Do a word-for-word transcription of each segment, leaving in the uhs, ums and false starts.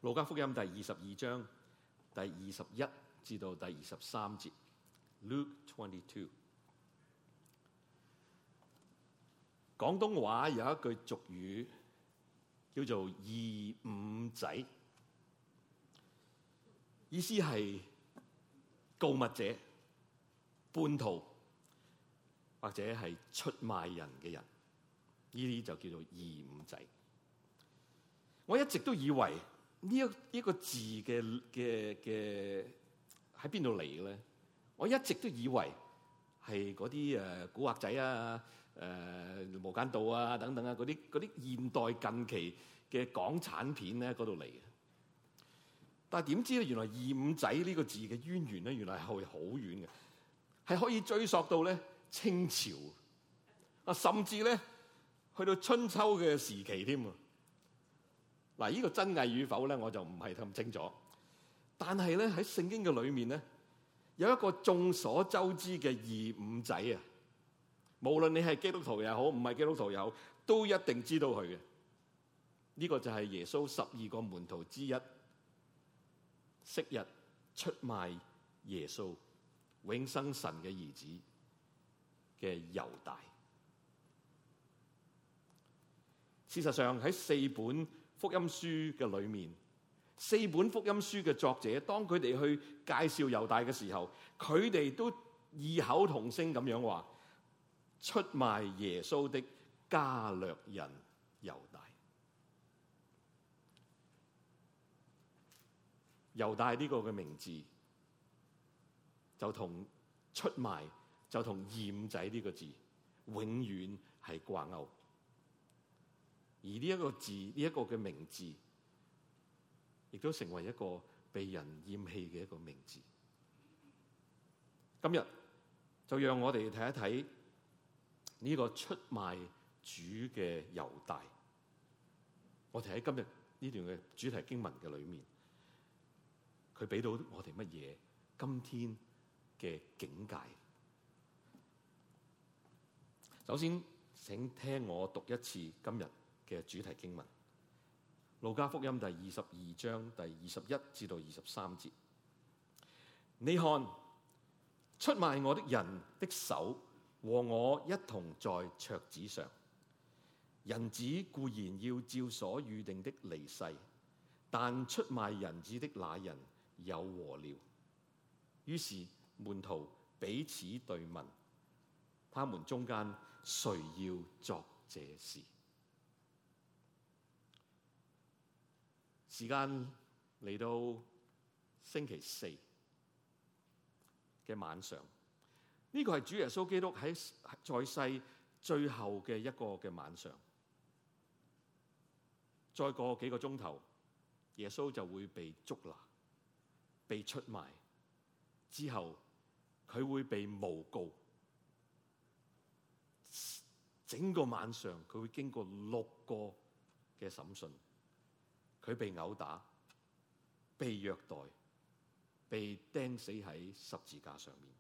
路加福音第二十二章第二十一至到第二十三節。Luke twenty-two。廣東話有一句俗語叫做二五仔，意思係告密者、叛徒或者係出賣人嘅人，呢啲就叫做二五仔。我一直都以為呢一呢個字嘅嘅嘅喺邊度嚟嘅咧？我一直都以為係嗰啲誒古惑仔啊、誒、呃、無間道啊等等啊嗰啲嗰啲現代近期嘅港產片咧嗰度嚟嘅。但係點知咧，原來二五仔呢個字嘅淵源咧，原來係好遠嘅，係可以追溯到咧清朝啊，甚至咧去到春秋嘅時期添啊。嗱，呢個真偽與否咧，我就唔係咁清楚。但係咧喺聖經嘅裏面咧，有一個眾所周知嘅二五仔啊，無論你係基督徒又好，唔係基督徒又好，都一定知道佢嘅。呢個就係耶穌十二個門徒之一，昔日出賣耶穌永生神嘅兒子嘅猶大。事實上喺四本福音書嘅裏面，四本福音書嘅作者，當佢哋去介紹猶大嘅時候，佢哋都異口同聲咁樣話：出賣耶穌的加略人猶大。猶大呢個嘅名字就同出賣，就同二五仔呢個字永遠係掛鈎。而呢一個字，呢一個嘅名字，亦都成為一個被人厭棄嘅一個名字。今日就讓我哋睇一睇呢個出賣主嘅猶大。我哋喺今日呢段嘅主題經文嘅裏面，佢俾到我哋乜嘢今天嘅境界？首先，請聽我讀一次今日嘅主題經文，路加福音第二十二章第二十一至到二十三節。你看，出賣我的人的手和我一同在桌子上。人子固然要照所預定的離世，但出賣人子的那人有禍了。於是門徒彼此對問，他們中間誰要作這事？時間嚟到星期四嘅晚上，呢個係主耶穌基督喺在世最後嘅一個嘅晚上。再過幾個鐘頭，耶穌就會被捉拿、被出賣，之後佢會被誣告。整個晚上佢會經過六個嘅審訊。佢被毆打、被虐待、被釘死喺十字架上面。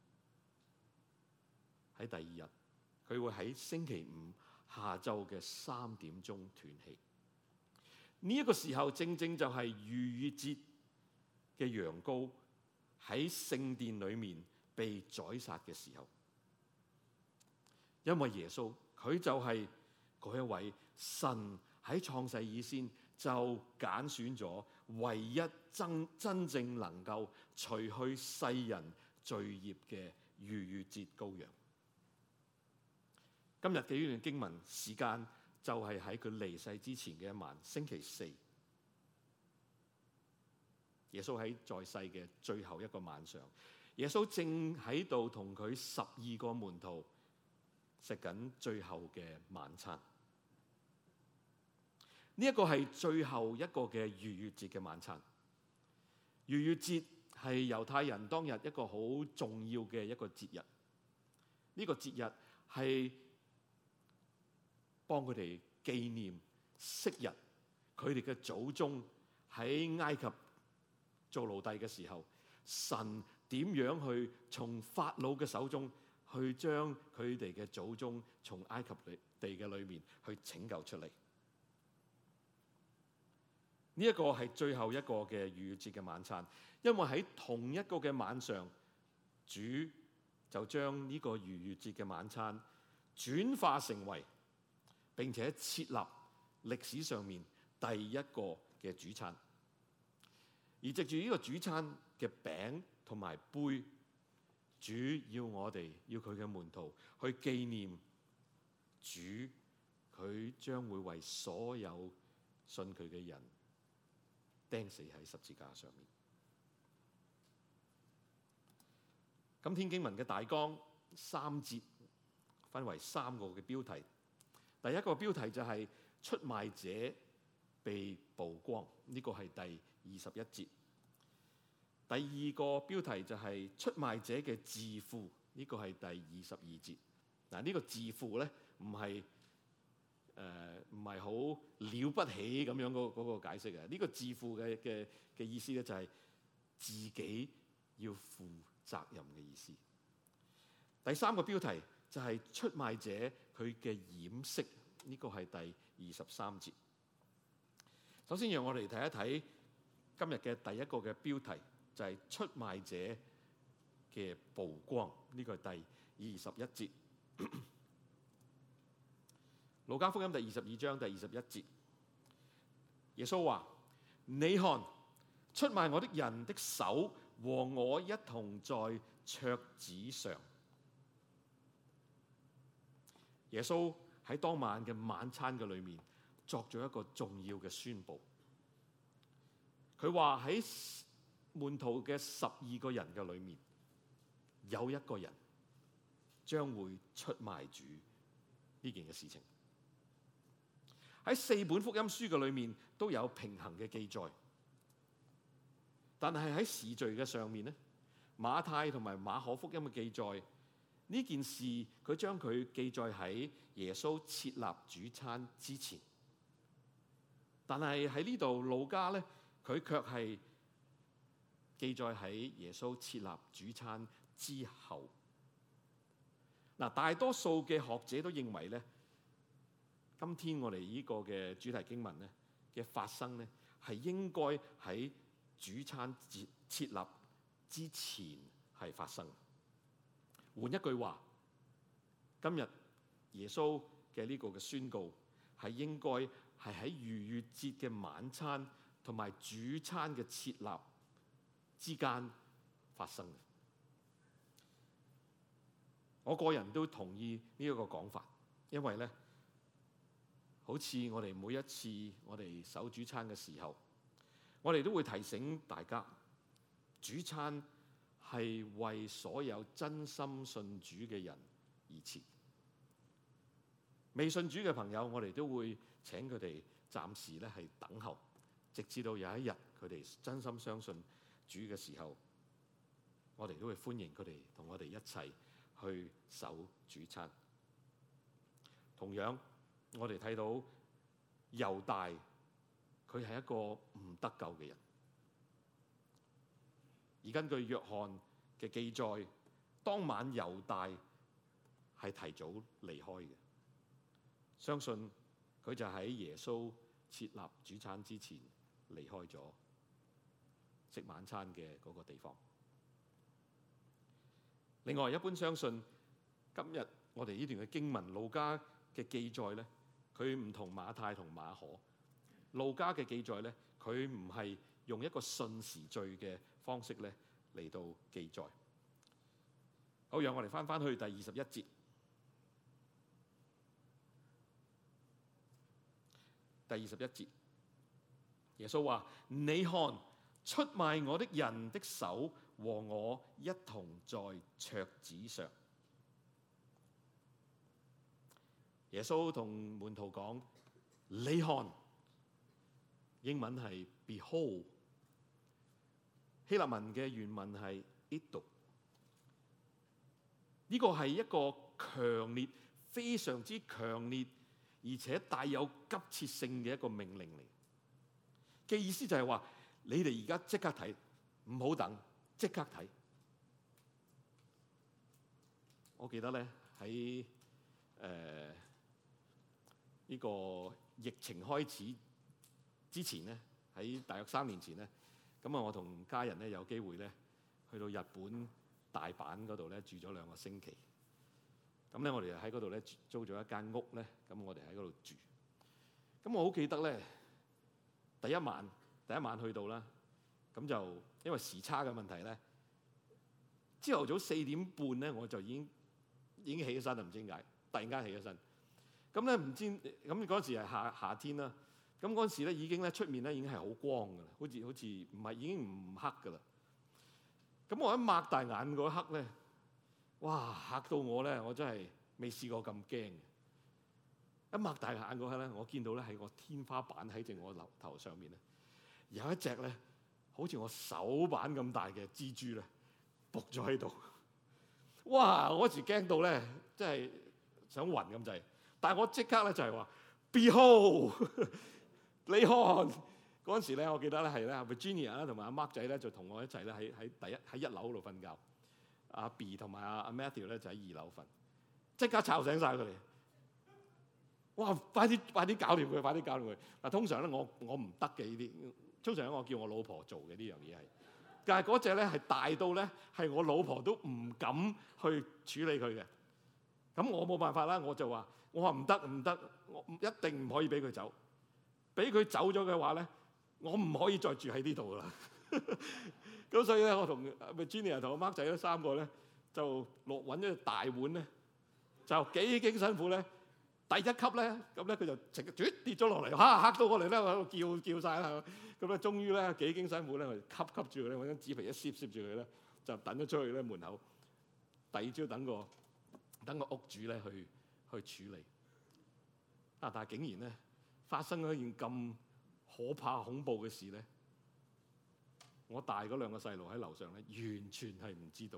喺第二日，佢會喺星期五下晝嘅三點鐘斷氣。呢、這、一個時候，正正就係逾越節嘅羊羔喺聖殿裏面被宰殺嘅時候。因為耶穌佢就係嗰一位神喺創世以先就揀選咗唯一真真正能夠除去世人罪孽嘅逾越節羔羊。今日嘅呢段經文時間就係喺佢離世之前嘅一晚，星期四。耶穌喺在，在世嘅最後一個晚上，耶穌正喺度同佢十二個門徒食緊最後嘅晚餐。呢一個係最後一個嘅逾越節嘅晚餐。逾越節係猶太人當日一個好重要嘅一個節日。呢個節日係幫佢哋紀念昔日佢哋嘅祖宗喺埃及做奴隸嘅時候，神點樣去從法老嘅手中去將佢哋嘅祖宗從埃及地嘅裏面去拯救出嚟。 呢一個係最後一個嘅逾越節嘅晚餐，因為喺同一個嘅晚上，主就將呢個逾越節嘅晚餐轉化成為並且設立歷史上面第一個嘅主餐。而藉住呢個主餐嘅餅同埋杯，主要我哋要佢嘅門徒去紀念主，佢將會為所有信佢嘅人釘死喺十字架上面。今天經文嘅大綱三節分為三個嘅標題。第一個標題就係出賣者被曝光，呢個係第二十一節。第二個標題就係出賣者嘅自負，呢個係第二十二節。嗱，呢個自負咧唔係誒唔係好了不起咁樣嗰嗰個解釋嘅。呢個自負嘅嘅嘅意思咧就係自己要負責任嘅意思。第三個標題就係出賣者佢嘅掩飾，呢個係第二十三節。首先讓我哋睇一睇今日嘅第一個嘅標題，就係出賣者嘅曝光，呢個係第二十一節。路加福音第二十二章第二十一節，耶穌話：你看，出賣我的人的手和我一同在桌子上。耶穌喺當晚嘅晚餐嘅裏面作咗一個重要嘅宣佈。佢話喺門徒嘅十二個人嘅裏面，有一個人將會出賣主呢件嘅事情。喺四本福音書嘅裏面都有平衡嘅記載，但係喺時序嘅上面咧，馬太同埋馬可福音嘅記載呢件事，佢將佢記載喺耶穌設立主餐之前，但係喺呢度路加咧，佢卻係記載喺耶穌設立主餐之後。嗱，大多數嘅學者都認為咧，今天我哋呢個嘅主題經文咧嘅發生咧，係應該喺主餐節設立之前係發生。換一句話，今日耶穌嘅呢個嘅宣告係應該係喺逾越節嘅晚餐同埋主餐嘅設立之間發生嘅。我個人都同意呢一個講法，因為咧，好似我哋每一次我哋守主餐嘅時候，我哋都會提醒大家，主餐係為所有真心信主嘅人而設。未信主嘅朋友，我哋都會請佢哋暫時咧係等候，直至到有一日佢哋真心相信主嘅時候，我哋都會歡迎佢哋同我哋一齊去守主餐。同樣，我哋睇到猶大，佢係一個唔得救嘅人。而根據約翰嘅記載，當晚猶大係提早離開嘅，相信佢就喺耶穌設立主餐之前離開咗食晚餐嘅嗰個地方。另外，一般相信今日我哋呢段嘅經文，路加嘅記載咧，佢唔同馬太同馬可。路加嘅記載咧，佢唔係用一個順時序嘅方式咧嚟到記載。好，讓我哋翻翻去第二十一節。第二十一節，耶穌話：你看，出賣我的人的手和我一同在桌子上。耶穌同門徒講：你看，英文係 behold， 希臘文嘅原文係 iddo。呢個係一個強烈、非常之強烈，而且帶有急切性嘅一個命令嚟。嘅意思就係話：你哋而家即刻睇，唔好等，即刻睇。我記得咧喺誒呢個疫情開始之前咧， 喺大約三年前咧，咁啊我同家人咧有機會咧去到日本大阪嗰度咧住咗兩個星期。咁咧我哋喺嗰度咧租咗一間屋咧，咁我哋喺嗰度住。咁我好記得咧，第一晚第一晚去到啦，咁就因為時差嘅問題咧，朝頭早四點半咧我就已經已經起咗身啦，唔知點解突然間起咗身。咁咧唔知咁嗰時係夏夏天啦，咁嗰時咧已經咧出面咧已經係好光㗎啦，好似好似唔係已經唔黑㗎啦。咁我一擘大眼嗰一刻咧，哇嚇到我咧，我真係未試過咁驚。一擘大眼嗰刻咧，我見到咧喺個天花板喺正我樓頭上面咧，有一隻咧好似我手板咁大嘅蜘蛛咧，伏咗喺度。哇！我嗰時驚到咧，真係想暈咁滯。但係我即刻咧就係話 ，Behold， 你看嗰陣時咧，我記得咧係咧 Virginia 啦同埋阿 Mark 仔咧就同我一齊咧喺喺第一喺一樓度瞓覺，阿 B 同埋阿阿 Matthew 咧就喺二樓瞓，即刻吵醒晒佢哋。哇！快啲快啲搞掂佢，快啲搞掂佢。嗱，通常咧我我唔得嘅呢啲，通常咧我叫我老婆做嘅呢樣嘢係，但係嗰隻咧係大到咧係我老婆都唔敢去處理佢嘅。咁我冇辦法啦，我就話。我話唔得唔得，我一定唔可以俾佢走。俾佢走咗嘅話咧，我唔可以再住喺呢度噶啦。咁所以咧，我同 Virginia 同我 Mark 仔咧三個咧，就落揾咗隻大碗咧，就幾經辛苦咧，第一級咧，咁咧佢就直接跌咗落嚟，嚇嚇到我哋咧喺度叫叫曬啦。咁咧，終於咧幾經辛苦咧，我哋吸吸住佢咧，揾張紙皮一攝攝住佢咧，就等咗出去咧門口。第二朝等個等個屋主咧去。去處理啊！但係竟然咧發生咗一件咁可怕恐怖嘅事咧，我大嗰兩個細路喺樓上咧，完全係唔知道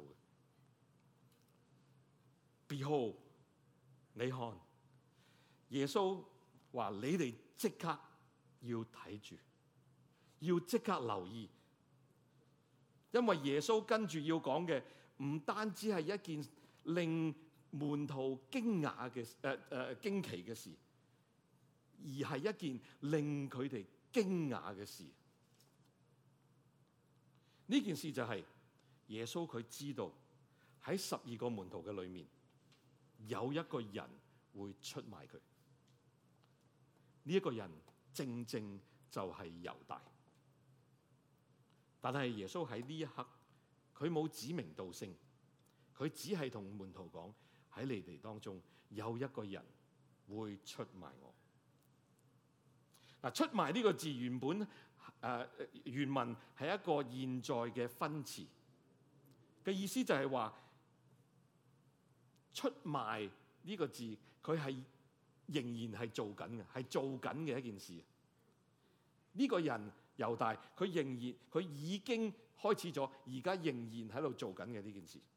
嘅。Behold， 你看，耶穌話：你哋即刻要睇住，要即刻留意，因為耶穌跟住要講嘅唔單止係一件令門徒驚訝嘅誒誒驚奇嘅事，而係一件令佢哋驚訝嘅事。呢件事就係耶穌佢知道喺十二個門徒嘅裏面有一個人會出賣佢。呢一個人正正就係猶大。但係耶穌喺呢一刻，佢冇指名道姓，佢只係同門徒講。喺你哋當中有一個人會出賣我。嗱，出賣呢個字原本誒、呃、原文係一個現在嘅分詞嘅意思，就係話出賣呢個字佢係仍然係做緊嘅，係做緊嘅一件事。呢、這個人猶大佢仍然佢已經開始咗，而家仍然喺度做緊嘅呢件事。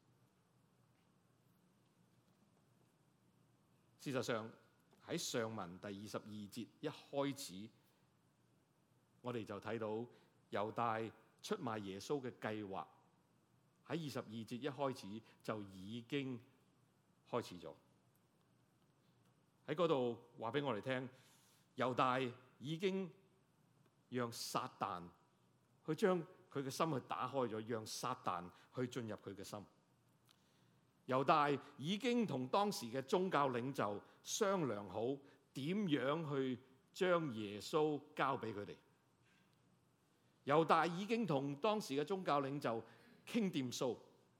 事實上喺上文第二十二節一開始，我哋就睇到猶大出賣耶穌嘅計劃喺二十二節一開始就已經開始咗。喺嗰度話俾我哋聽，猶大已經讓撒旦去將佢嘅心去打開咗，讓撒旦去進入佢嘅心。猶大已經同當時嘅宗教領袖商量好點樣去將耶穌交俾佢哋。猶大已經同當時嘅宗教領袖傾掂數，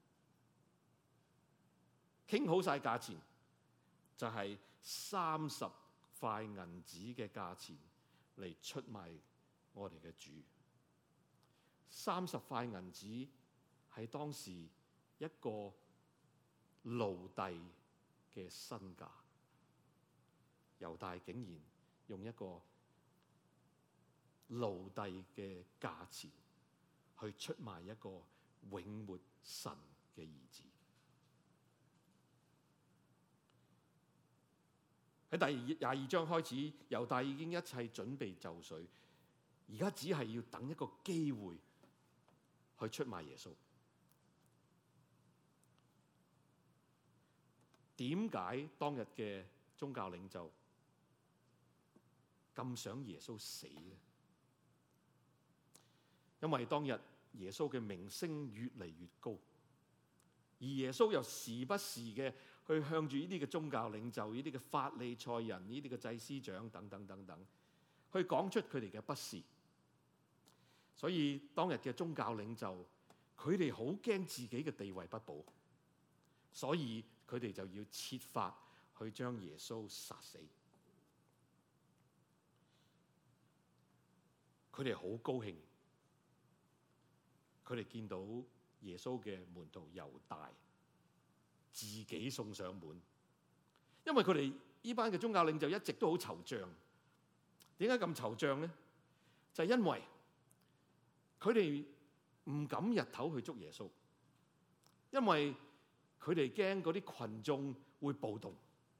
傾好晒價錢，就係三十塊銀子嘅價錢嚟出賣我哋嘅主。三十塊銀子係當時一個奴隸嘅身價，猶大竟然用一個奴隸嘅價錢去出賣一個永活神嘅兒子。喺第廿二章開始，猶大已經一切準備就緒，而家只係要等一個機會去出賣耶穌。點解當日嘅宗教領袖咁想耶穌死咧？ 因為當日耶穌嘅名聲越嚟越高，而耶穌又時不時嘅去向住呢啲嘅宗教領袖、呢啲嘅法利賽人、呢啲嘅祭司長等等等等，去講出佢哋嘅不是。所以當日嘅宗教領袖，佢哋好驚自己嘅地位不保，所以佢哋就要設法去將耶穌殺死。佢哋好高興，佢哋見到耶穌嘅門徒猶大自己送上門，因為佢哋呢班嘅宗教領袖一直都好惆悵。點解咁惆悵呢？就係因為佢哋唔敢日頭去捉耶穌，因為佢哋驚嗰啲群眾會暴動。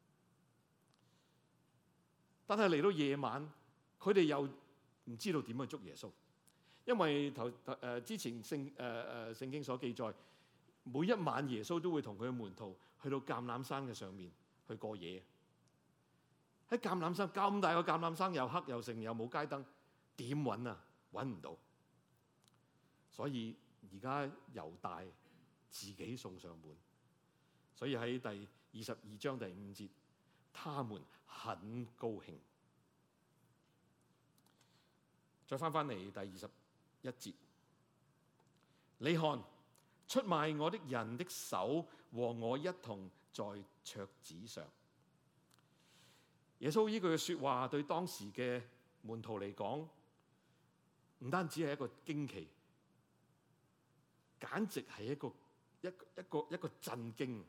但係嚟到夜晚，佢哋又唔知道點去捉耶穌，因為頭誒之前聖誒誒聖經所記載，每一晚耶穌都會同佢嘅門徒去到橄欖山嘅上面去過夜。喺橄欖山咁大個橄欖山，又黑又剩又冇街燈，點揾啊？揾唔到。所以而家猶大自己送上門。所以喺第二十二章第五節，他們很高興。再翻翻嚟第二十一節，你看，出賣我的人的手和我一同在桌子上。耶穌呢句嘅說話對當時嘅門徒嚟講，唔單止係一個驚奇，簡直係一個一一個一個震驚。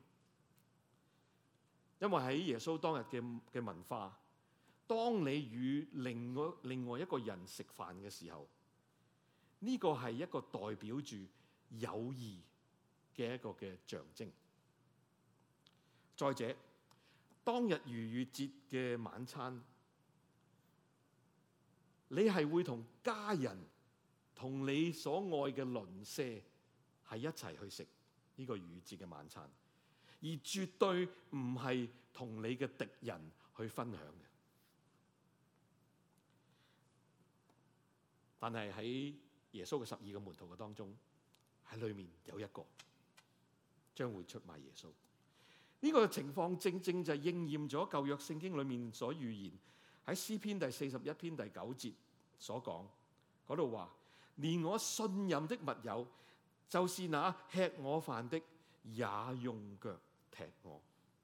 因為喺耶穌當日嘅嘅文化，當你與另外另外一個人食飯嘅時候，呢個係一個代表住友誼嘅一個嘅象徵。再者，當日逾越節嘅晚餐，你係會同家人、同你所愛嘅鄰舍係一齊去食呢個逾越節嘅晚餐，而絕對唔係同你嘅敵人去分享嘅。但係喺耶穌嘅十二個門徒嘅當中，喺裏面有一個將會出賣耶穌。呢個情況正正就係應驗咗舊約聖經裏面所預言，喺詩篇第四十一篇第九節所講嗰度話：連我信任的密友，就是那吃我飯的，也用腳踢我。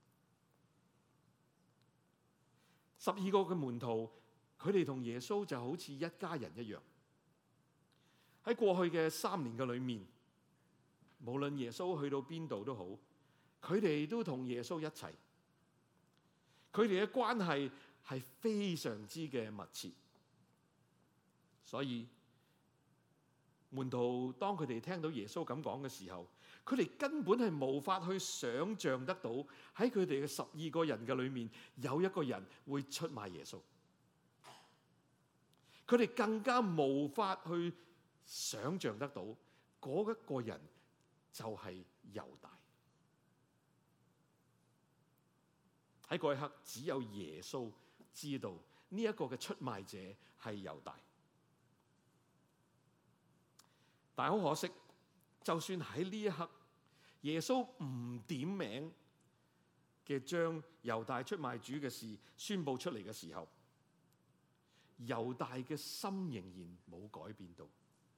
十二個嘅門徒，佢哋同耶穌就好似一家人一樣。喺過去嘅三年嘅裏面，無論耶穌去到邊度都好，佢哋都同耶穌一齊。佢哋嘅關係係非常之嘅密切，所以門徒當佢哋聽到耶穌咁講嘅時候，佢哋根本係無法去想像得到喺佢哋嘅十二個人嘅裏面有一個人會出賣耶穌。佢哋更加無法去想像得到嗰一個人就係猶大。喺嗰一刻，只有耶穌知道呢一個嘅出賣者係猶大。但係好可惜，就算喺呢一刻，耶穌唔點名嘅將猶大出賣主嘅事宣佈出嚟嘅時候，猶大嘅心仍然冇改變到。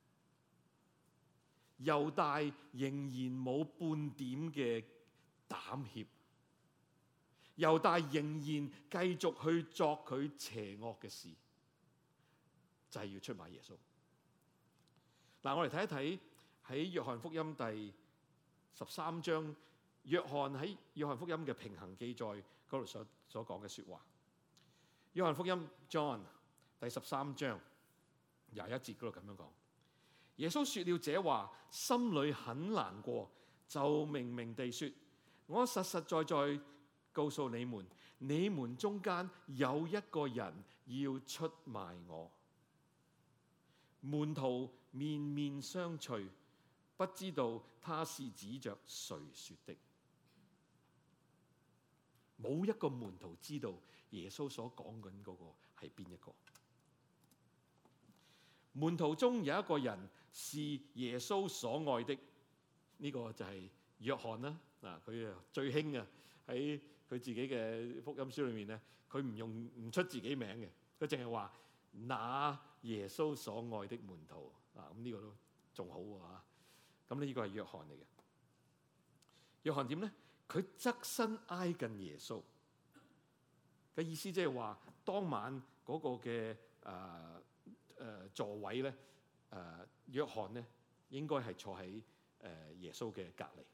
猶大仍然冇半點嘅膽怯，猶大仍然繼續去作佢邪惡嘅事，就係要出賣耶穌。嗱，我哋睇一睇喺約翰福音第十三章，約翰喺約翰福音嘅平行記載嗰度所所講嘅說話。約翰福音 John 第十三章廿一節嗰度咁樣講。耶穌說了這話，心裏很難過，就明明地說：我實實在在告訴你們，你們中間有一個人要出賣我。門徒面面相覷，不知道他是指着誰說的。冇一個門徒知道耶穌所講緊嗰個係邊一個。門徒中有一個人是耶穌所愛的。呢、這個就係約翰啦。嗱，佢啊最興啊喺佢自己嘅福音書裏面咧，佢唔用唔出自己名嘅，佢淨係話那耶穌所愛的門徒。啊，咁呢個都仲好喎嚇。咁呢個係約翰嚟嘅。約翰點咧？佢側身挨近耶穌嘅意思，即係話當晚嗰個嘅誒誒座位咧，誒、呃、約翰咧應該係坐喺誒、呃、耶穌嘅隔離。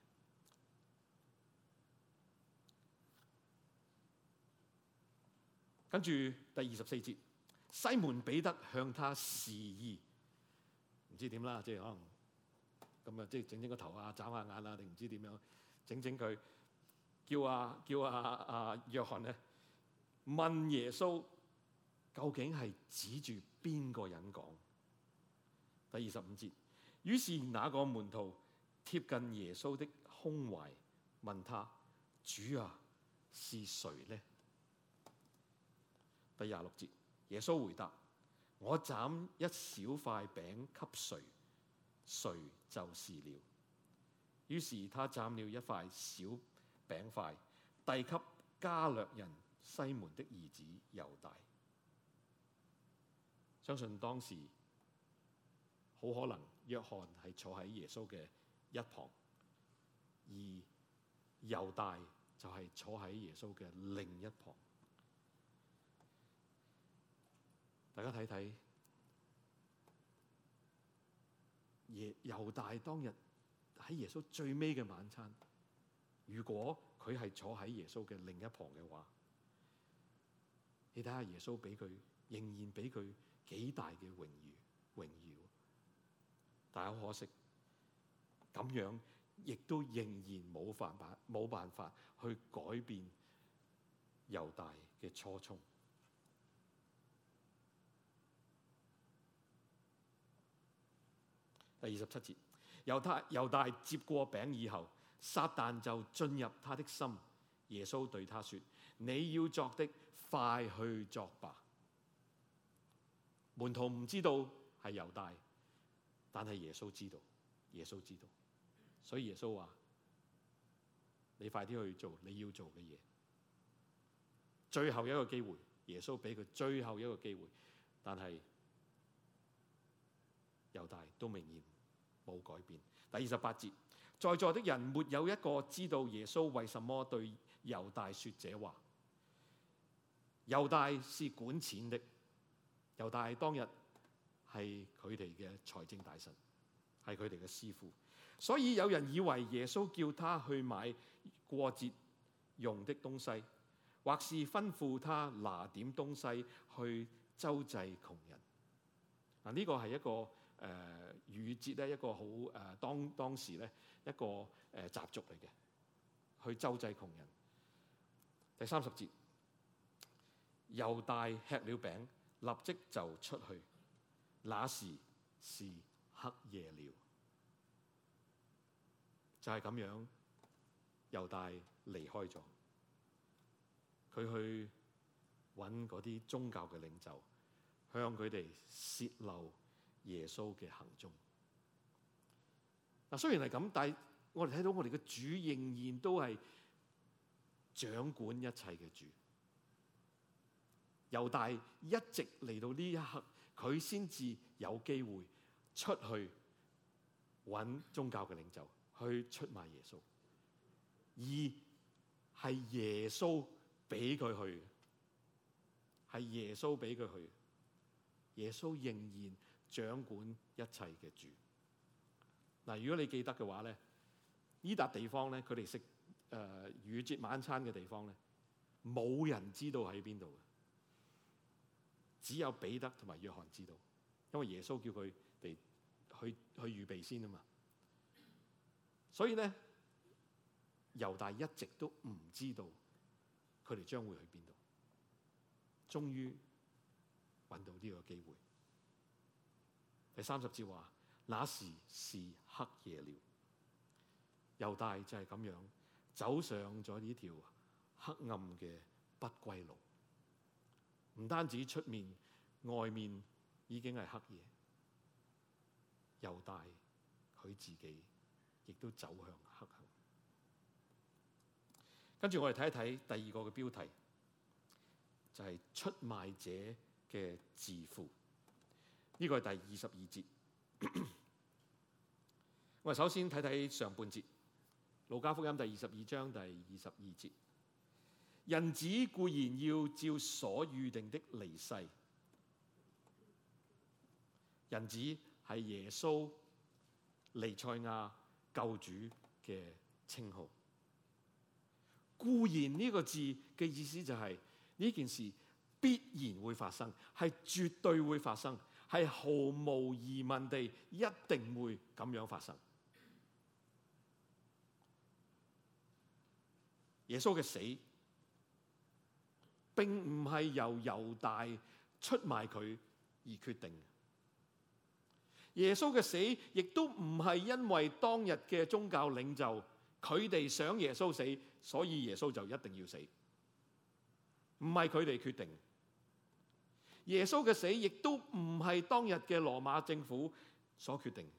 跟住第二十四節，西門彼得向他示意，唔知點啦，即係可能咁啊，即係整整個頭啊，眨下眼啊，定唔知點樣整整佢。叫啊叫啊啊約翰咧問耶穌究竟係指住邊個人講？第二十五節，於是那個門徒貼近耶穌的胸懷，問他：主啊，是誰呢？第廿六節，耶穌回答：我斬一小塊餅給誰，誰就是了。於是他斬了一塊小餅塊，遞給加略人西門的兒子猶大。相信當時好可能約翰係坐喺耶穌嘅一旁，而猶大就係坐喺耶穌嘅另一旁。大家睇睇，耶猶大當日喺耶穌最尾嘅晚餐，如果佢係坐喺耶穌嘅另一旁嘅話，你睇下耶穌俾佢，仍然俾佢幾大嘅榮譽榮耀。但係好可惜，咁樣亦都仍然冇辦法冇辦法去改變猶大嘅初衷。第二十七節，猶大猶大接過餅以後，撒旦就進入他的心。耶穌對他說：你要作的，快去作吧。門徒唔知道係猶大，但係耶穌知道，耶穌知道，所以耶穌話：你快啲去做你要做嘅嘢。最後一個機會，耶穌俾佢最後一個機會，但係猶大都明顯冇改變。第二十八節，在座的人沒有一個知道耶穌為什麼對猶大說這話。猶大是管錢的，猶大當日係佢哋嘅財政大臣，係佢哋嘅師傅，所以有人以為耶穌叫他去買過節用的東西，或是吩咐他拿點東西去周濟窮人。嗱，呢個係一個誒逾節咧，一個好誒、呃、當當時咧一個誒、呃、習俗嚟嘅，去周濟窮人。第三十節，猶大吃了餅，立即就出去，那時是黑夜了。就係、是、咁樣，猶大離開咗，佢去揾嗰啲宗教嘅領袖，向佢哋泄露耶穌嘅行蹤。嗱，雖然係咁，但係我哋睇到我哋嘅主仍然都係掌管一切嘅主。猶大一直嚟到呢一刻，佢先至有機會出去揾宗教嘅領袖，去出賣耶穌，而係耶穌俾佢去，係耶穌俾佢去。耶穌仍然掌管一切嘅主。嗱，如果你記得嘅話咧，呢笪地方咧，佢哋食誒逾節晚餐嘅地方咧，冇人知道喺邊度嘅，只有彼得同埋約翰知道，因為耶穌叫佢哋去去預備先啊嘛。所以咧，猶大一直都唔知道佢哋將會去邊度，終於揾到呢個機會。第三十節話：那時是黑夜了。猶大就係咁樣走上咗呢條黑暗嘅不歸路。唔單止出面外面已經係黑夜， 猶大佢自己亦都走向黑暗。跟住我哋睇一睇第二個嘅標題，就係、是、出賣者嘅自負。呢、這個係第二十二節。我哋首先睇睇上半節，路加福音第二十二章第二十二節。人子固然要照所預定的離世。人子係耶穌彌賽亞救主嘅稱號。固然呢個字嘅意思就係、是、呢件事必然會發生，係絕對會發生，係毫無疑問地一定會咁樣發生。耶穌嘅死並唔係由猶大出賣佢而決定。耶穌嘅死亦都唔係因為當日嘅宗教領袖佢哋想耶穌死，所以耶穌就一定要死。唔係佢哋決定。耶穌嘅死亦都唔係當日嘅羅馬政府所決定。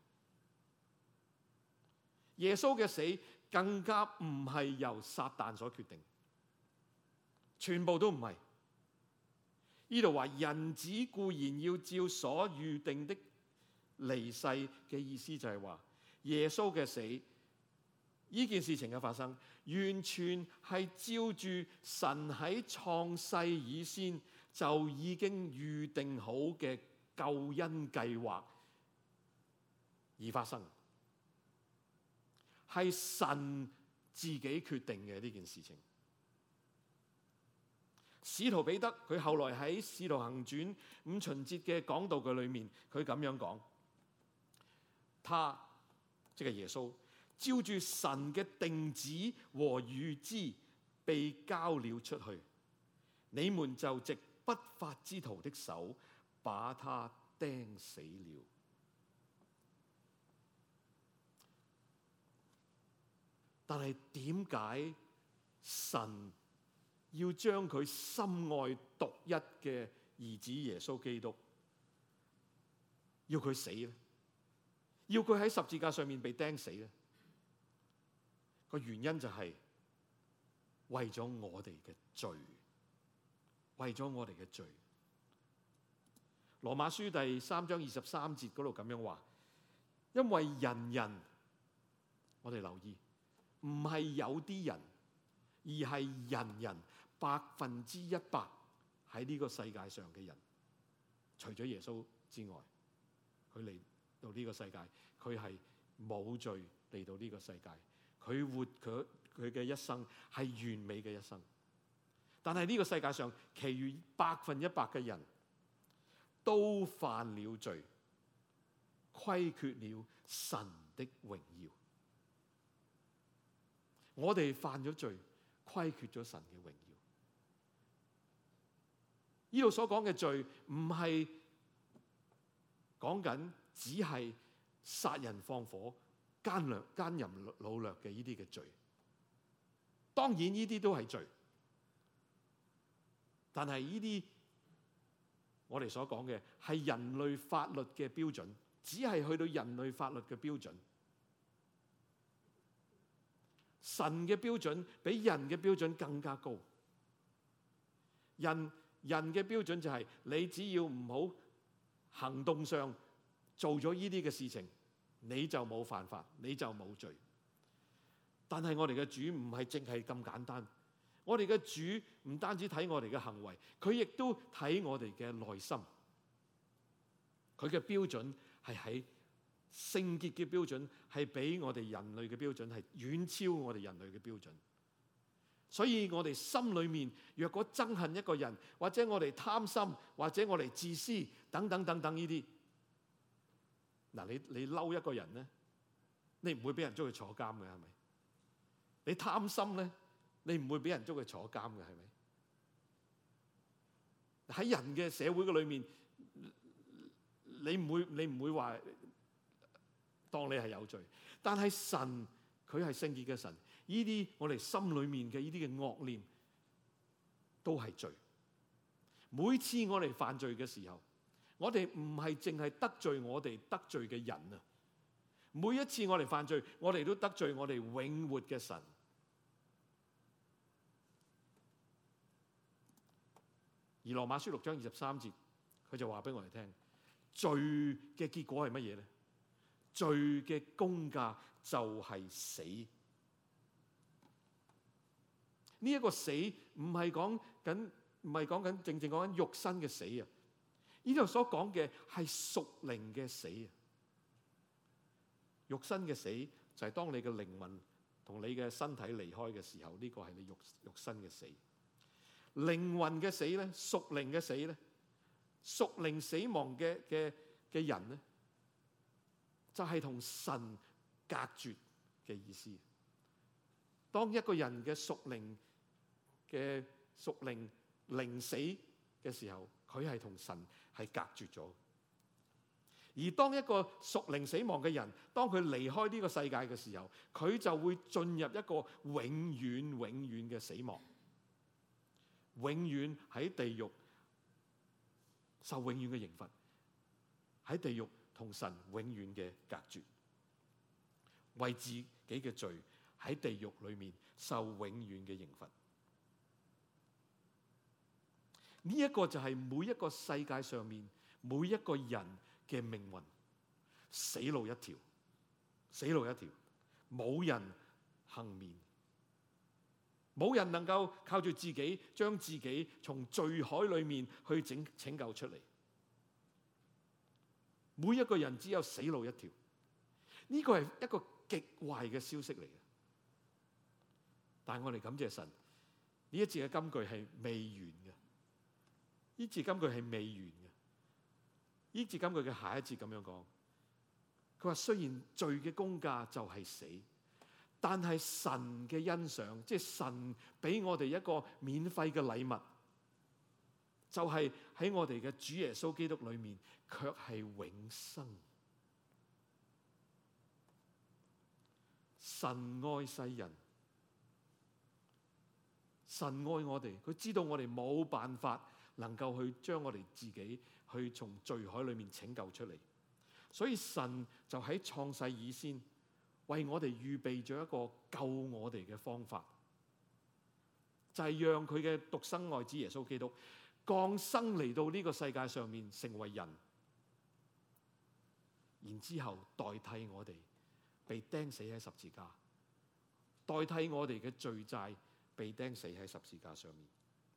耶穌嘅死更加唔係由撒旦所決定，全部都唔係。呢度話人子固然要照所預定的離世嘅意思就係話，耶穌嘅死呢件事情嘅發生，完全係照住神喺創世以先就已經預定好嘅救恩計劃而發生。係神自己決定嘅呢件事情。使徒彼得佢後來喺《使徒行傳》五旬節嘅講道嘅裏面，佢咁樣講：他即係耶穌，照住神嘅定旨和預知，被交了出去。你們就藉不法之徒的手，把他釘死了。但係點解神要將佢深愛獨一嘅兒子耶穌基督，要佢死咧？要佢喺十字架上面被釘死咧？個原因就係為咗我哋嘅罪，為咗我哋嘅罪。羅馬書第三章二十三節嗰度咁樣話：因為人人，我哋留意，唔係有啲人，而係人人百分之一百喺呢個世界上嘅人，除咗耶穌之外，佢嚟到呢個世界，佢係冇罪嚟到呢個世界，佢活佢佢嘅一生係完美嘅一生。但係呢個世界上，其餘百分一百嘅人都犯了罪，虧缺了神的榮耀。我哋犯咗罪，虧缺咗神嘅榮耀。呢度所講嘅罪，唔係講緊只係殺人放火、奸掠、奸淫擄掠嘅呢啲嘅罪。當然呢啲都係罪，但係呢啲我哋所講嘅係人類法律嘅標準，只係去到人類法律嘅標準。神嘅標準比人嘅標準更加高。人人嘅標準就係你只要唔好行動上做咗呢啲嘅事情，你就冇犯法，你就冇罪。但係我哋嘅主唔係淨係咁簡單，我哋嘅主唔單止睇我哋嘅行為，佢亦都睇我哋嘅內心。佢嘅標準係喺聖潔嘅標準，係比我哋人類嘅標準係遠超我哋人類嘅標準。所以我哋心裏面若果憎恨一個人，或者我哋貪心，或者我哋自私等等等等呢啲，嗱，你你嬲一個人咧，你唔會俾人捉佢坐監嘅，係咪？你貪心咧，你唔會俾人捉佢坐監嘅，係咪？喺人嘅社會嘅裏面，你唔會你唔會話當你係有罪，但係神佢係聖潔嘅神，呢啲我哋心裏面嘅呢啲嘅惡念都係罪。每次我哋犯罪嘅時候，我哋唔係淨係得罪我哋得罪嘅人啊， 每一次我哋犯罪，我哋都得罪我哋永活嘅神。而羅馬書六章二十三節，佢就話俾我哋聽，罪嘅結果係乜嘢咧？罪嘅工價就係死。呢一個死唔係講緊，唔係講緊正正講緊肉身嘅死啊！呢度所講嘅係屬靈嘅死啊！肉身嘅死就係當你嘅靈魂同你嘅身體離開嘅時候，呢個係你肉肉身嘅死。靈魂嘅死咧，屬靈嘅死咧，屬靈死亡嘅嘅嘅人咧，就係同神隔絕嘅意思。當一個人嘅屬靈嘅屬靈靈死嘅時候，佢係同神係隔絕咗。而當一個屬靈死亡嘅人，當佢離開呢個世界嘅時候，佢就會進入一個永遠永遠嘅死亡，永遠喺地獄受永遠嘅刑罰，喺地獄同神永遠嘅隔絕，為自己嘅罪喺地獄裏面受永遠嘅刑罰。呢一個就係每一個世界上面每一個人嘅命運，死路一條，死路一條，冇人幸免，冇人能夠靠住自己將自己從罪海裏面去拯拯救出嚟。每一個人只有死路一條，呢個係一個極壞嘅消息嚟嘅。但係我哋感謝神，呢一節嘅金句係未完嘅，呢節金句係未完嘅。呢節金句嘅下一節咁樣講，佢話雖然罪嘅工價就係死，但係神嘅欣賞，即係神俾我哋一個免費嘅禮物，就係喺我哋嘅主耶穌基督裏面，卻係永生。神愛世人，神愛我哋，佢知道我哋冇辦法能夠去將我哋自己去從罪海裏面拯救出嚟，所以神就喺創世以先為我哋預備咗一個救我哋嘅方法，就係讓佢嘅獨生愛子耶穌基督降生嚟到呢個世界上面成為人，然之後代替我哋被釘死喺十字架，代替我哋嘅罪債被釘死喺十字架上面。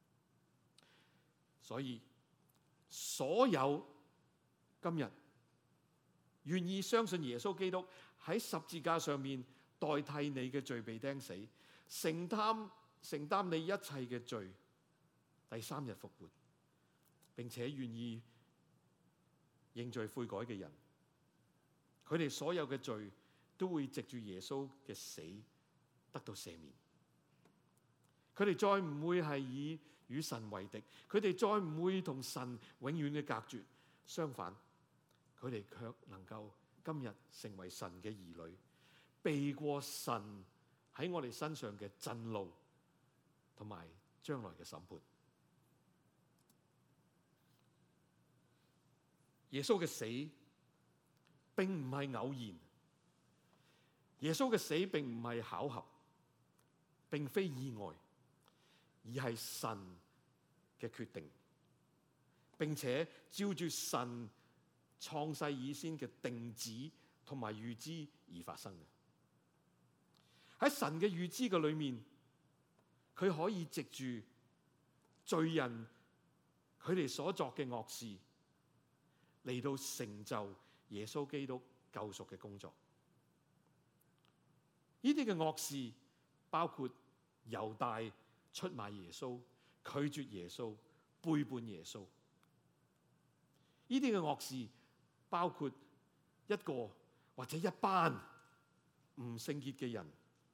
所以所有今日願意相信耶穌基督喺十字架上面代替你嘅罪被釘死，承擔承擔你一切嘅罪，第三日復活，並且願意認罪悔改嘅人，佢哋所有嘅罪都會藉住耶穌嘅死得到赦免。佢哋再唔會係以與神為敵，佢哋再唔會同神永遠嘅隔絕，相反，佢哋卻能夠今日成為神嘅兒女，避過神喺我哋身上嘅震怒同埋將來嘅審判。耶穌嘅死並唔係偶然，耶穌嘅死並唔係巧合，並非意外，而係神嘅決定，並且照住神創世以先嘅定旨同埋預知而發生嘅。喺神嘅預知嘅裏面，佢可以藉住罪人佢哋所作嘅惡事嚟到成就耶穌基督救贖嘅工作。呢啲嘅惡事包括猶大出賣耶穌、拒絕耶穌、背叛耶穌。呢啲嘅惡事包括一個或者一班唔聖潔嘅人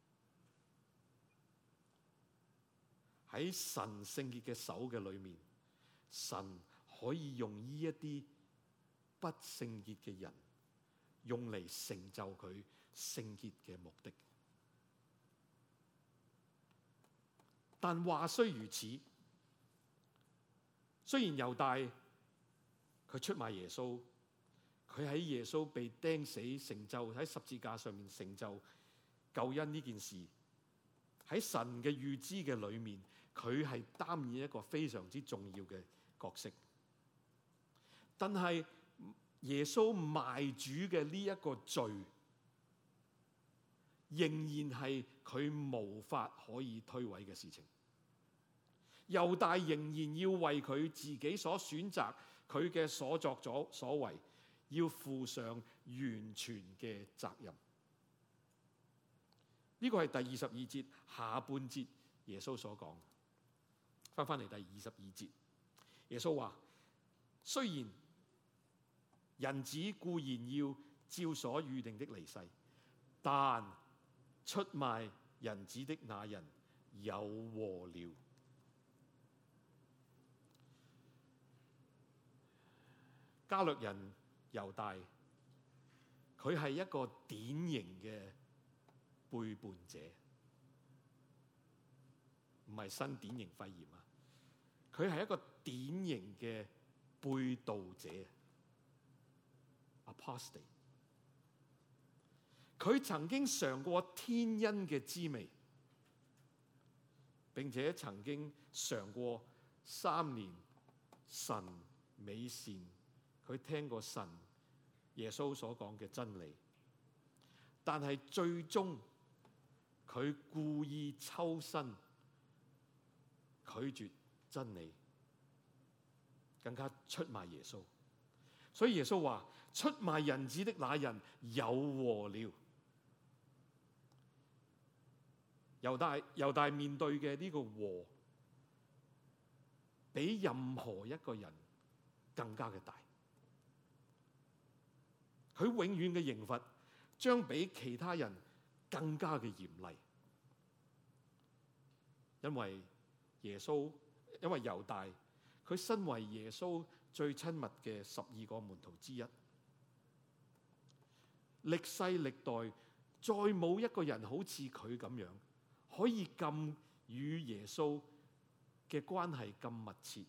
喺神聖潔嘅手嘅裏面，神可以用呢一啲不聖潔嘅人用嚟成就佢聖潔嘅目的。但話雖如此，雖然猶大佢出賣耶穌， 佢喺耶穌被釘死成就，喺十字架上面成就救恩呢件事，喺神嘅預知嘅裏面，佢係擔任一個非常之重要嘅角色。但係耶穌賣主嘅呢一個罪，仍然係佢無法可以推諉嘅事情。猶大仍然要為佢自己所選擇，佢嘅所作咗所為，要負上完全嘅責任。呢個係第二十二節下半節耶穌所講。翻翻嚟第二十二節，耶穌話：雖然人子固然要照所預定的離世，但出賣人子的那人有禍了。加略人猶大，佢係一個典型嘅背叛者，唔係新典型肺炎啊！佢係一個典型嘅背道者 ，apostate。佢曾經嘗過天恩嘅滋味，並且曾經嘗過三年神美善。佢聽過神耶穌所講嘅真理，但係最終佢故意抽身，拒絕真理，更加出賣耶穌。所以耶穌話：出賣人子的那人有禍了。猶大猶大面對嘅呢個禍，比任何一個人更加嘅大。佢永遠嘅刑罰將比其他人更加嘅嚴厲，因為耶穌，因為猶大，佢身為耶穌最親密嘅十二個門徒之一，歷世歷代再冇一個人好似佢咁樣，可以咁與耶穌嘅關係咁密切，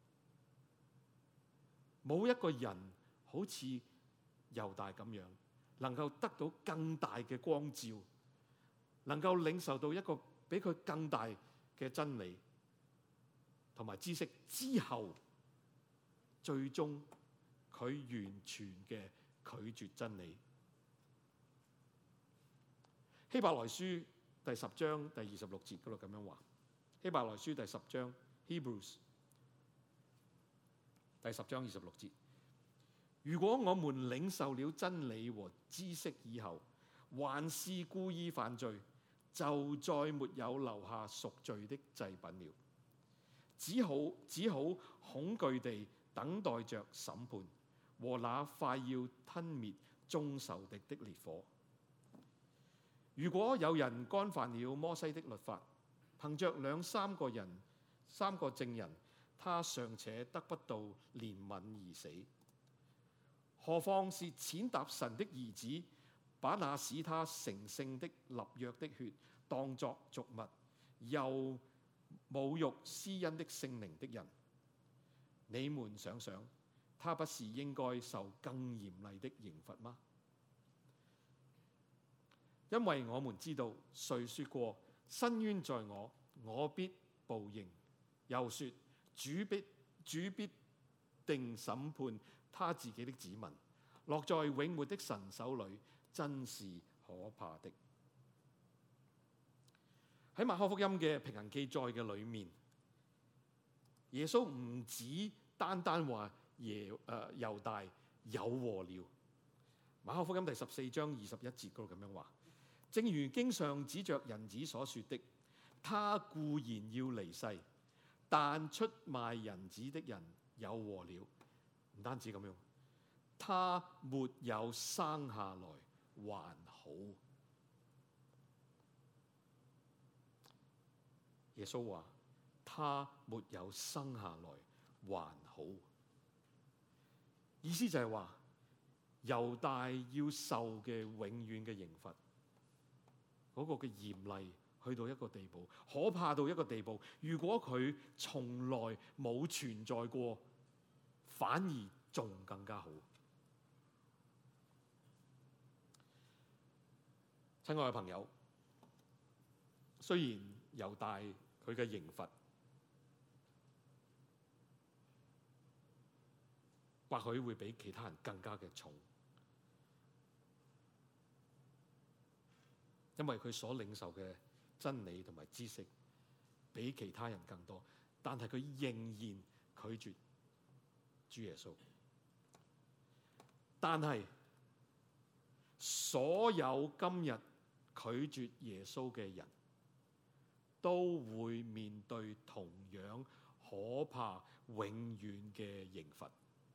冇一個人好似猶大咁樣，能夠得到更大嘅光照，能夠領受到一個比佢更大嘅真理同埋知識之後，最終佢完全嘅拒絕真理。希伯來書第十章第二十六節嗰度咁樣話，希伯來書第十章 Hebrews 第十章二十六節。如果我們領受了真理和知識以後，還是故意犯罪，就再沒有留下贖罪的祭品了，只好只好恐懼地等待着審判和那快要吞滅眾仇敵的烈火。如果有人干犯了摩西的律法，憑着兩三個人、三個證人，他尚且得不到憐憫而死，何況是踐踏神的兒子，把那使他成聖的立約的血當作俗物，又侮辱施恩的聖靈的人？你們想想，他不是應該受更嚴厲的刑罰嗎？因為我們知道，誰說過伸冤在我，我必報應，又說主必主必定審判他自己的子民，落在永活的神手裏，真是可怕的。喺馬可福音嘅平行記載嘅裏面，耶穌唔止單單話耶誒猶大有禍了。馬可福音第十四章二十一節嗰度咁樣話，正如經上指着人子所說的，他固然要離世，但出賣人子的人有禍了。唔單止咁樣，他沒有生下來還好。耶穌話他沒有生下來還好，意思就係話猶大要受嘅永遠嘅刑罰，嗰個嘅嚴厲去到一個地步，可怕到一個地步。如果佢從來冇存在過，反而仲更加好。 親愛嘅朋友，雖然猶大佢嘅刑罰或許會比其他人更加嘅重，因為佢所領受嘅真理同埋知識比其他人更多，但係佢仍然拒絕主耶穌。但係所有今日拒絕耶穌嘅人都會面對同樣可怕永遠嘅刑罰。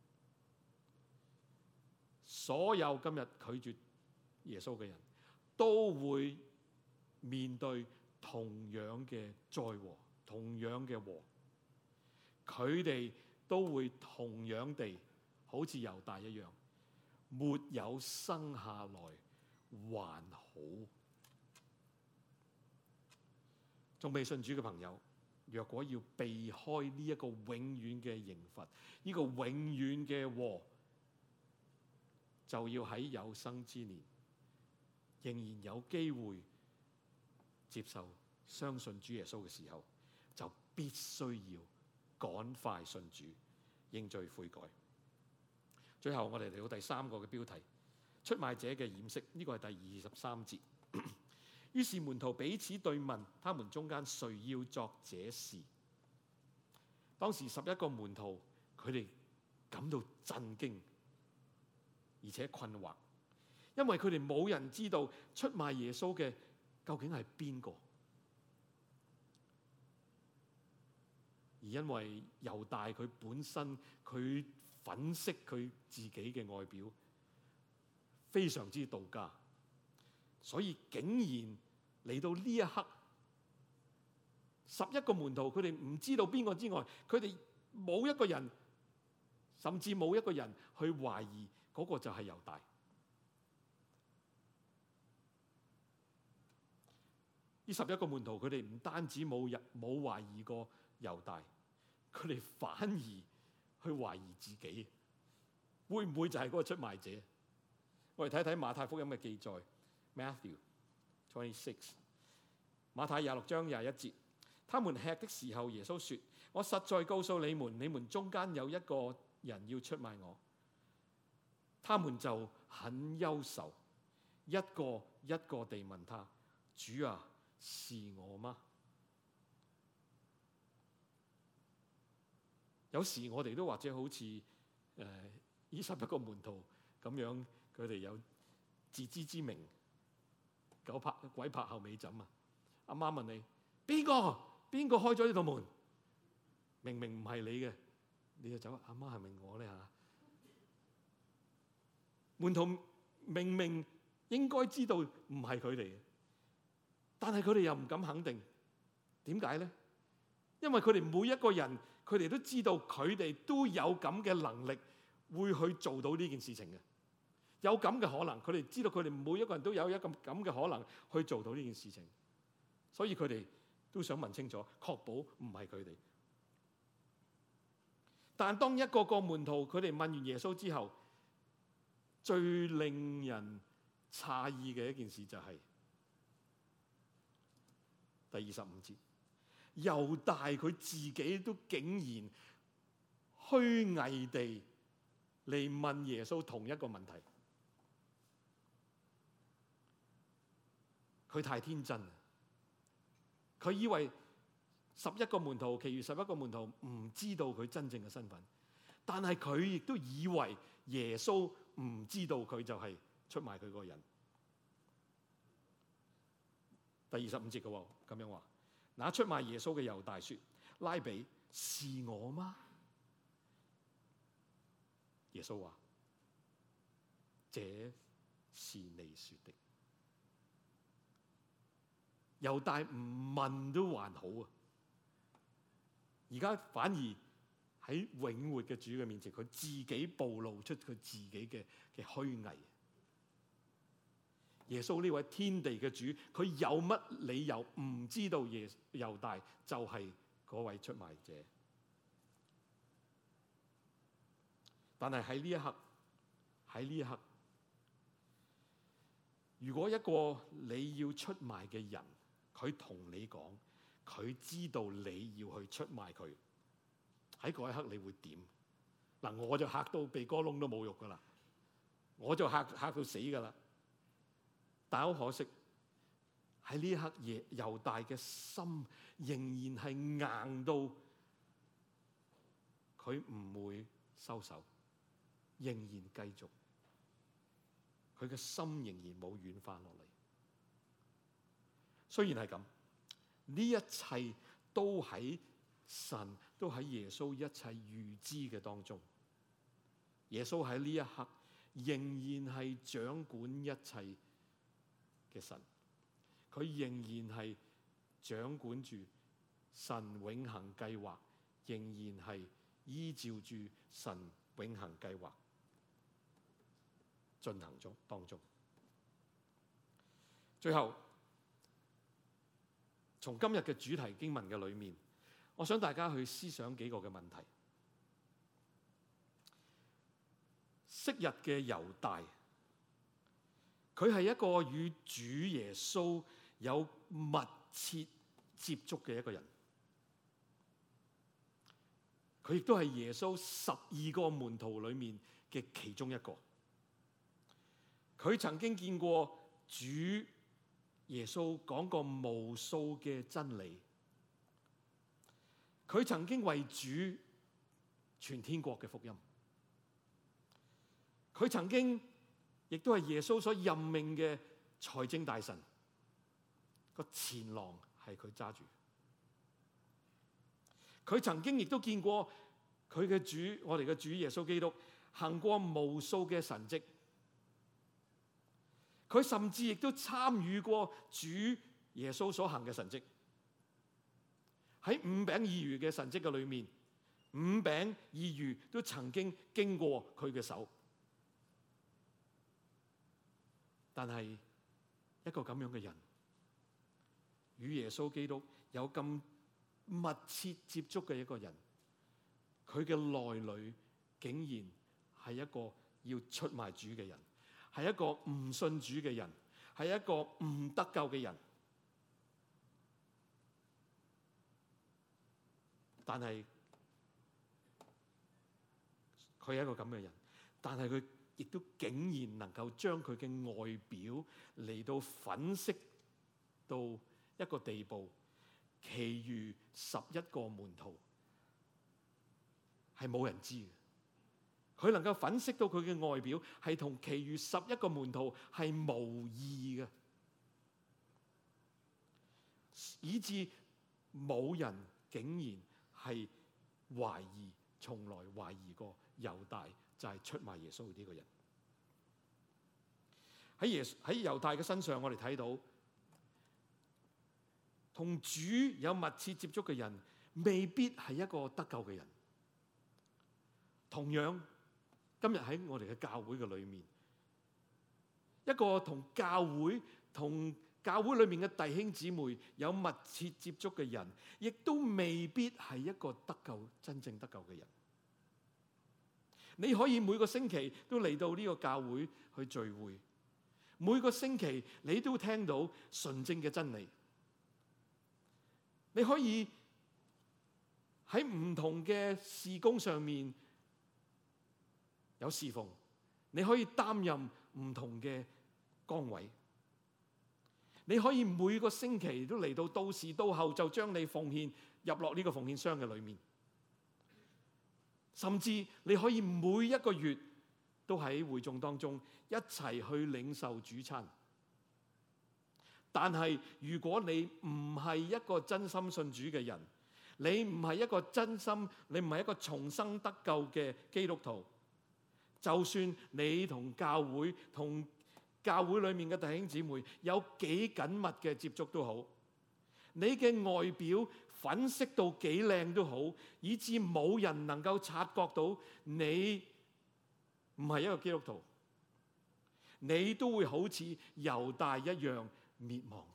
所有今日拒絕耶穌嘅人都會面對同樣嘅災禍，同樣嘅禍。佢哋都會同樣地好似猶大一樣，沒有生下來還好。仲未信主嘅朋友，若果要避開呢一個永遠嘅刑罰，呢個永遠嘅禍，就要喺有生之年仍然有機會接受相信主耶穌嘅時候，就必須要趕快信主，認罪悔改。最後我哋嚟到第三個嘅標題，出賣者嘅掩飾，呢個係第二十三節。於是門徒彼此對問，他們中間誰要作這事？當時十一個門徒，佢哋感到震驚而且困惑，因為佢哋冇人知道出賣耶穌嘅究竟係邊個。而因為猶大佢本身佢粉飾佢自己嘅外表，非常之道家，所以竟然嚟到呢一刻，十一個門徒佢哋唔知道邊個之外，佢哋冇一個人，甚至冇一個人去懷疑嗰個就係猶大。呢十一個門徒佢哋唔單止冇人冇懷疑過猶大，佢哋反而去懷疑自己，會唔會就係嗰個出賣者？我哋睇睇馬太福音嘅記載 ，Matthew twenty-six， 馬太廿六章廿一節，他們吃的時候，耶穌說：我實在告訴你們，你們中間有一個人要出賣我。他們就很憂愁，一個一個地問他：主啊，是我嗎？有時我哋都或者好似誒呢十一個門徒咁樣，佢哋有自知之明，狗拍鬼拍後尾枕啊！阿媽問你邊個？邊個開咗呢道門？明明唔係你嘅，你就走。阿媽係咪我咧嚇？門徒明明應該知道唔係佢哋嘅，但係佢哋又唔敢肯定。點解咧？因為佢哋每一個人，佢哋都知道佢哋都有咁嘅能力，會去做到呢件事情嘅。有咁嘅可能，佢哋知道佢哋每一個人都有一個咁嘅可能去做到呢件事情，所以佢哋都想問清楚，確保唔係佢哋。但當一個個門徒佢哋問完耶穌之後，最令人詫異嘅一件事就係第二十五節，猶大佢自己都竟然虛偽地嚟問耶穌同一個問題。佢太天真，佢以為十一個門徒，其餘十一個門徒唔知道佢真正嘅身份，但係佢亦都以為耶穌唔知道佢就係出賣佢嗰個人。第二十五節嘅喎，咁樣話，那出賣耶穌嘅猶大說：拉比，是我嗎？耶穌話：這是你說的。猶大唔問都還好啊，而家反而喺永活嘅主嘅面前，佢自己暴露出佢自己嘅嘅虛偽。耶穌呢位天地嘅主，佢有乜理由唔知道耶猶大就係嗰位出賣者？但係喺呢一刻，喺呢一刻， 如果一個你要出賣嘅人，佢同你講，佢知道你要去出賣佢，喺嗰一刻你會點？嗱，我就嚇到鼻哥窿都冇肉噶啦，我就嚇嚇到死噶啦。但好可惜，喺呢一刻，耶猶大嘅心仍然係硬到佢唔會收手，仍然繼續。佢嘅心仍然冇軟化落嚟。雖然係咁，呢一切都喺神，都喺耶穌一切預知嘅當中。耶穌喺呢一刻仍然係掌管一切嘅神，佢仍然係掌管住神永恆計劃，仍然係依照住神永恆計劃進行中當中。最後，從今日嘅主題經文嘅裏面，我想大家去思想幾個嘅問題。昔日嘅猶大，佢係一個與主耶穌有密切接觸嘅一個人，佢亦都係耶穌十二個門徒裏面嘅其中一個。佢曾經見過主耶穌講過無數嘅真理，佢曾經為主傳天國嘅福音，佢曾經亦都係耶穌所任命嘅財政大臣，個錢囊係佢揸住。佢曾經亦都見過佢嘅主，我哋嘅主耶穌基督行過無數嘅神蹟。佢甚至亦都參與過主耶穌所行嘅神蹟。喺五餅二魚嘅神蹟嘅裏面，五餅二魚都曾經經過佢嘅手。但係一個咁樣嘅人，與耶穌基督有咁密切接觸嘅一個人，佢嘅內裏竟然係一個要出賣主嘅人，係一個唔信主嘅人，係一個唔得救嘅人。但係佢係一個咁嘅人，但係佢亦都竟然能夠將佢嘅外表嚟到粉飾到一個地步，其餘十一個門徒係冇人知嘅。佢能夠粉飾到佢嘅外表係同其餘十一個門徒係無異嘅，以致冇人竟然係懷疑，從來懷疑過猶大就係出賣耶穌呢個人。喺耶喺猶大嘅身上，我哋睇到同主有密切接觸嘅人，未必係一個得救嘅人。同樣，今日喺我哋嘅教會嘅裏面，一個同教會同教會裏面嘅弟兄姊妹有密切接觸嘅人，亦都未必係一個得救真正得救嘅人。你可以每個星期都嚟到呢個教會去聚會，每個星期你都聽到純正嘅真理。你可以喺唔同嘅事工上面有侍奉，你可以擔任唔同嘅崗位，你可以每個星期都嚟到，到時到後就將你奉獻入落呢個奉獻箱嘅裏面，甚至你可以每一個月都喺會眾當中一齊去領受主餐。但係如果你唔係一個真心信主嘅人，你唔係一個真心，你唔係一個重生得救嘅基督徒，就算你同教會同教會裏面嘅弟兄姊妹有幾緊密嘅接觸都好，你嘅外表粉飾到幾靚都好，以致冇人能夠察覺到你唔係一個基督徒，你都會好似猶大一樣滅亡。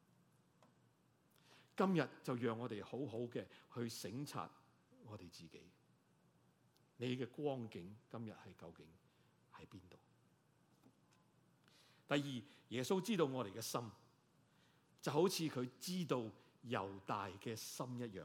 今日就讓我哋好好嘅去省察我哋自己，你嘅光景今日係究竟喺邊度？ 第二，耶穌知道我哋嘅心，就好似佢知道猶大嘅心一樣。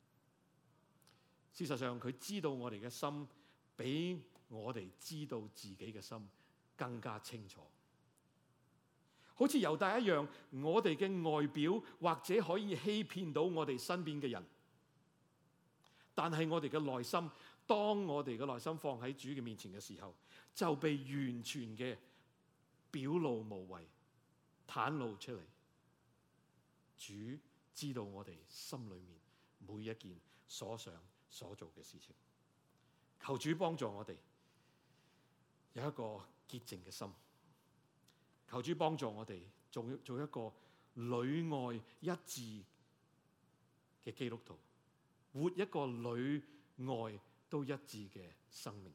事實上，佢知道我哋嘅心比我哋知道自己嘅心更加清楚。好似猶大一樣，我哋嘅外表或者可以欺騙到我哋身邊嘅人，但係我哋嘅內心，當我哋嘅內心放喺主嘅面前嘅時候，就被完全嘅表露無遺，袒露出嚟。主知道我哋心裏面每一件所想所做嘅事情。求主幫助我哋有一個潔淨嘅心。求主幫助我哋做做一個裏外一致嘅基督徒，活一個裏外都一致嘅生命。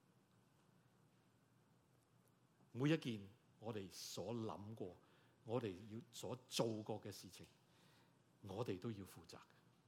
每一件我哋所諗過，我哋要所做過嘅事情，我哋都要負責。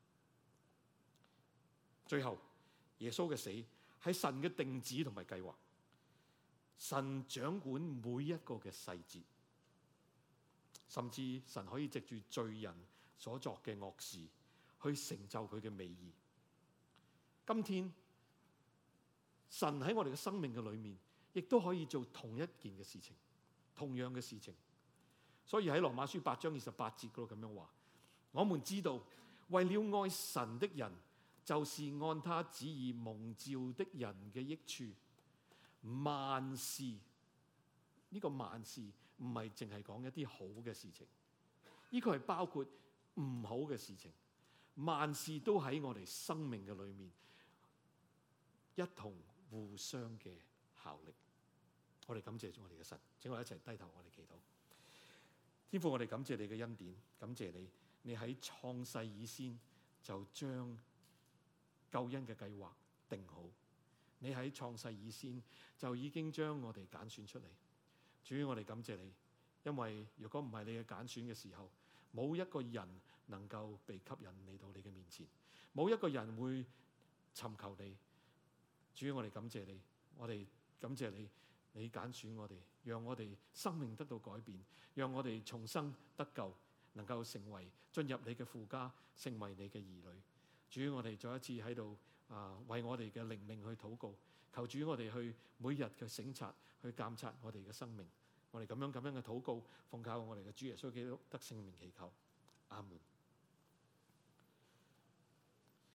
最後，耶穌嘅死係神嘅定旨同埋計劃。神掌管每一個嘅細節，甚至神可以藉住罪人所作嘅惡事去成就佢嘅美意。今天神喺我哋嘅生命嘅裏面，亦都可以做同一件嘅事情，同樣嘅事情。所以喺羅馬書八章二十八節嗰度咁樣話：我們知道，為了愛神的人，就是按他旨意蒙召的人嘅益處。萬事，呢個萬事唔係淨係講一啲好嘅事情，呢個係包括唔好嘅事情。萬事都喺我哋生命嘅裏面一同互相嘅效力。我哋感謝我哋嘅神，請我哋一齊低頭，我哋祈禱。天父，我哋感謝你嘅恩典，感謝你，你喺創世以先就將救恩嘅計劃定好。你喺創世以先就已經將我哋揀選出嚟。主，我哋感謝你，因為如果唔係你嘅揀選嘅時候，冇一個人能夠被吸引嚟到你嘅面前，冇一個人會尋求你。主，我哋感謝你，我哋感謝你，你揀選我哋，讓我哋生命得到改變，讓我哋重生得救，能夠成為進入你嘅父家，成為你嘅兒女。主，我哋再一次喺度啊，為我哋嘅靈命去禱告，求主我哋去每日嘅省察，去監察我哋嘅生命。我哋咁樣咁樣嘅禱告，奉靠我哋嘅主耶穌基督得聖名祈求，阿門。